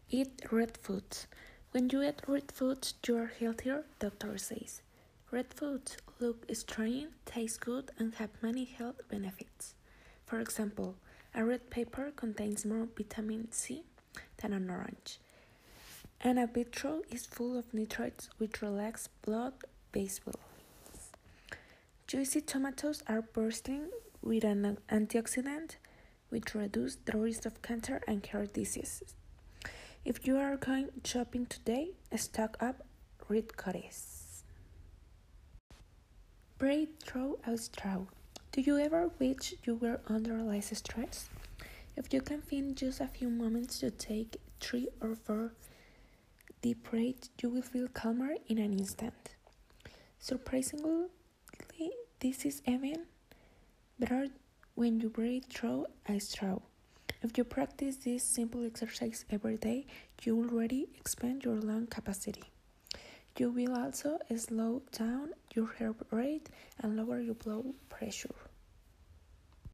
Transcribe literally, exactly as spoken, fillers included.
Eat red foods. When you eat red foods, you are healthier, doctor says. Red foods look strange, taste good, and have many health benefits. For example, a red pepper contains more vitamin C than an orange. And a beetroot is full of nitrates which relax blood vessels. Juicy tomatoes are bursting with an antioxidant which reduces the risk of cancer and heart diseases. If you are going shopping today, stock up red cuties. Break through a straw. Do you ever wish you were under less stress? If you can find just a few moments to take three or four deep breaths, you will feel calmer in an instant. Surprisingly, this is even better when you breathe through a straw. If you practice this simple exercise every day, you already expand your lung capacity. You will also slow down your heart rate and lower your blood pressure.